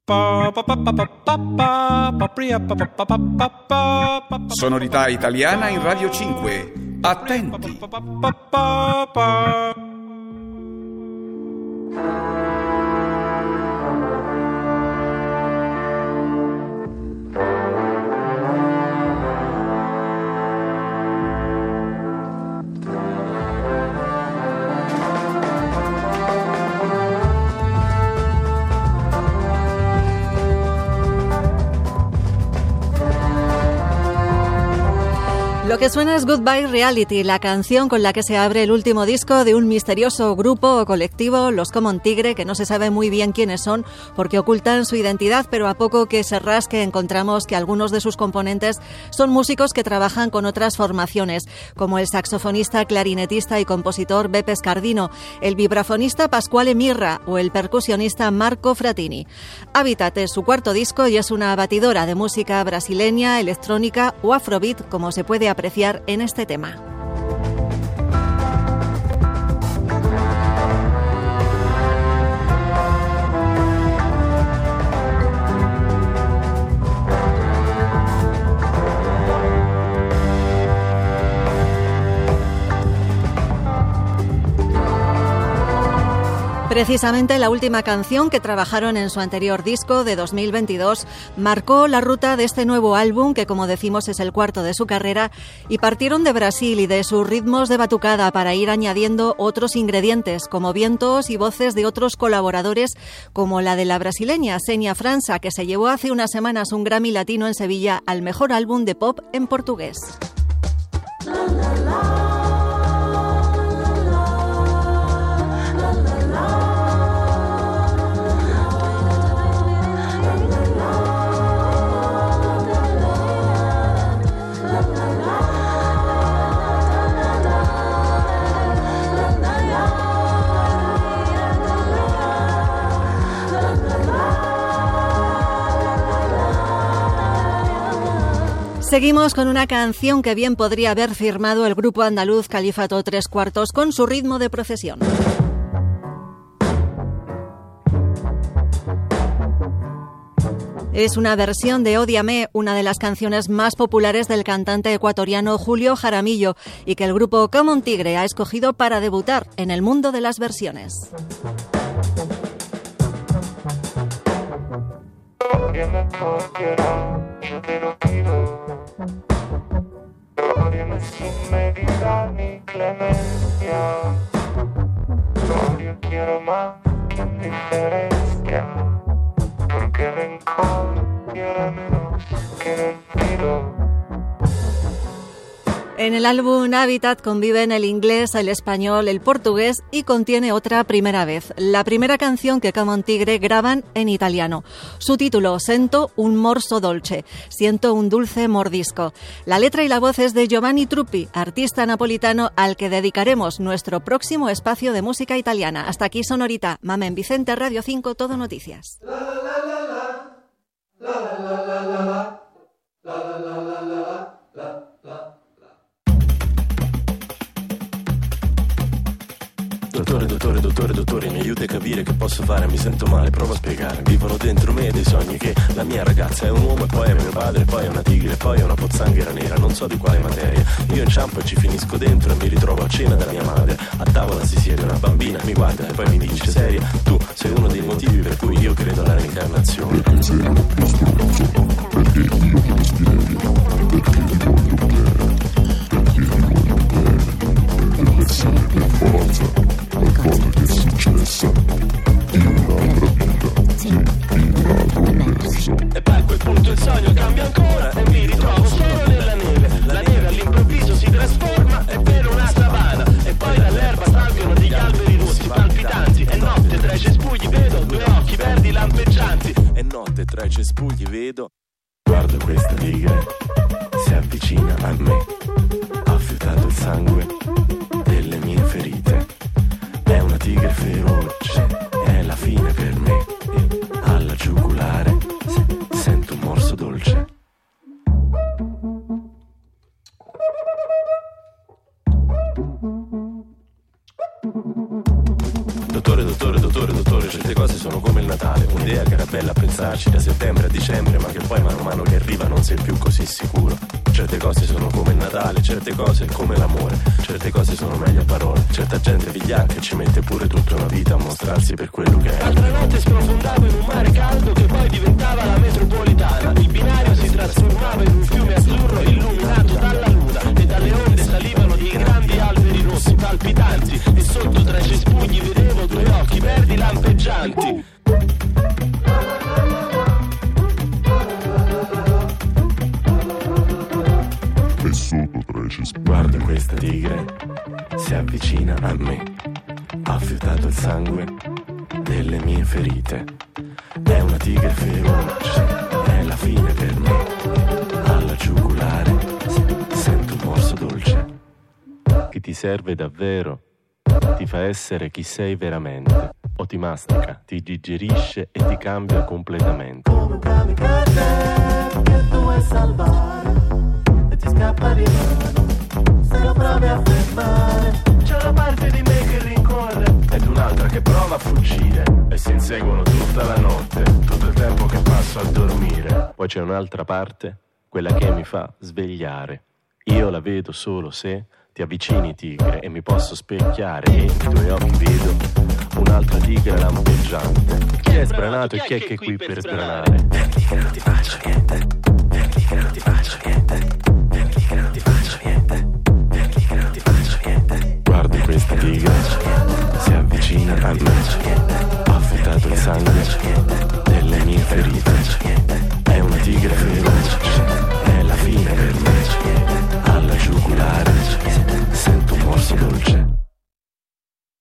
Sonorità italiana in Radio 5. Attenti! Lo que suena es Goodbye Reality, la canción con la que se abre el último disco de un misterioso grupo o colectivo, los Common Tigre, que no se sabe muy bien quiénes son porque ocultan su identidad, pero a poco que se rasque encontramos que algunos de sus componentes son músicos que trabajan con otras formaciones, como el saxofonista, clarinetista y compositor Beppe Scardino, el vibrafonista Pasquale Mirra o el percusionista Marco Fratini. Habitat es su cuarto disco y es una batidora de música brasileña, electrónica o afrobeat, como se puede apreciar en este tema. Precisamente la última canción que trabajaron en su anterior disco de 2022 marcó la ruta de este nuevo álbum, que como decimos es el cuarto de su carrera, y partieron de Brasil y de sus ritmos de batucada para ir añadiendo otros ingredientes como vientos y voces de otros colaboradores, como la de la brasileña Xenia França, que se llevó hace unas semanas un Grammy Latino en Sevilla al mejor álbum de pop en portugués. Seguimos con una canción que bien podría haber firmado el grupo andaluz Califato 3/4 con su ritmo de procesión. Es una versión de Ódiame, una de las canciones más populares del cantante ecuatoriano Julio Jaramillo y que el grupo Common Tigre ha escogido para debutar en el mundo de las versiones. Ódiame sin medida ni clemencia. Yo quiero más indiferencia. Porque rencor quiero menos que respiro. En el álbum Habitat conviven el inglés, el español, el portugués y contiene otra primera vez, la primera canción que Common Tigre graban en italiano. Su título, Sento un morso dolce, siento un dulce mordisco. La letra y la voz es de Giovanni Truppi, artista napolitano al que dedicaremos nuestro próximo espacio de música italiana. Hasta aquí Sonorita, Mamen Vicente, Radio 5, Todo Noticias. Dottore, mi aiuti a capire che posso fare, mi sento male, provo a spiegare. Vivono dentro me dei sogni che la mia ragazza è un uomo e poi è mio padre, poi è una tigre, poi è una pozzanghera nera, non so di quale materia. Io inciampo e ci finisco dentro e mi ritrovo a cena dalla mia madre. A tavola si siede una bambina, mi guarda e poi mi dice: seria, tu sei uno dei motivi per cui io credo alla reincarnazione. Perché sei il più stronzo, perché io ti spiego, perché ti voglio bene, perché ti voglio bene, deve essere per forza qualcosa che è successa in un'altra vita, sì, in un altro universo. E poi a quel punto il sogno cambia ancora e mi ritrovo solo nella neve. La neve all'improvviso si trasforma e per una savana e poi dall'erba salgono degli alberi rossi palpitanti. E notte tra i cespugli vedo due occhi verdi lampeggianti. E notte tra i cespugli vedo, guardo questa tigre, si avvicina a me, ha fiutato il sangue delle mie ferite. È una tigre feroce, è la fine per me. E alla giugulare sento un morso dolce. Dottore, certe cose sono come il Natale. Un'idea che era bella a pensare starci da settembre a dicembre, ma che poi man mano che arriva non sei più così sicuro. Certe cose sono come il Natale, certe cose come l'amore, certe cose sono meglio a parole, certa gente vigliacca e ci mette pure tutta una vita a mostrarsi per quello che è. L'altra notte sprofondavo in un mare caldo che poi diventava la metropolitana, il binario si trasformava in un fiume azzurro illuminato dalla luna e dalle onde salivano dei grandi alberi rossi palpitanti e sotto tra i cespugli vedevo due occhi verdi lampeggianti. E sotto tra i cespugli. Guardo questa tigre, si avvicina a me, ha fiutato il sangue delle mie ferite. È una tigre feroce, è la fine per me. Alla giugulare sento un morso dolce che ti serve davvero, ti fa essere chi sei veramente, o ti mastica, ti digerisce e ti cambia completamente. Come un kamikaze che tu vuoi salvare e ti scappa di mano se lo provi a fermare. C'è una parte di me che rincorre ed un'altra che prova a fuggire e si inseguono tutta la notte, tutto il tempo che passo a dormire. Poi c'è un'altra parte, quella che mi fa svegliare. Io la vedo solo se ti avvicini, tigre, e mi posso specchiare e nei tuoi occhi vedo un'altra tigre lampeggiante. Chi è sbranato e chi è che è qui per sbranare? Verdi che non ti faccio niente, verdi che non ti faccio niente, verdi che non ti faccio niente, verdi che non ti faccio niente. Guardo questa tigre, si avvicina a me, ha fiutato il sangue delle mie ferite.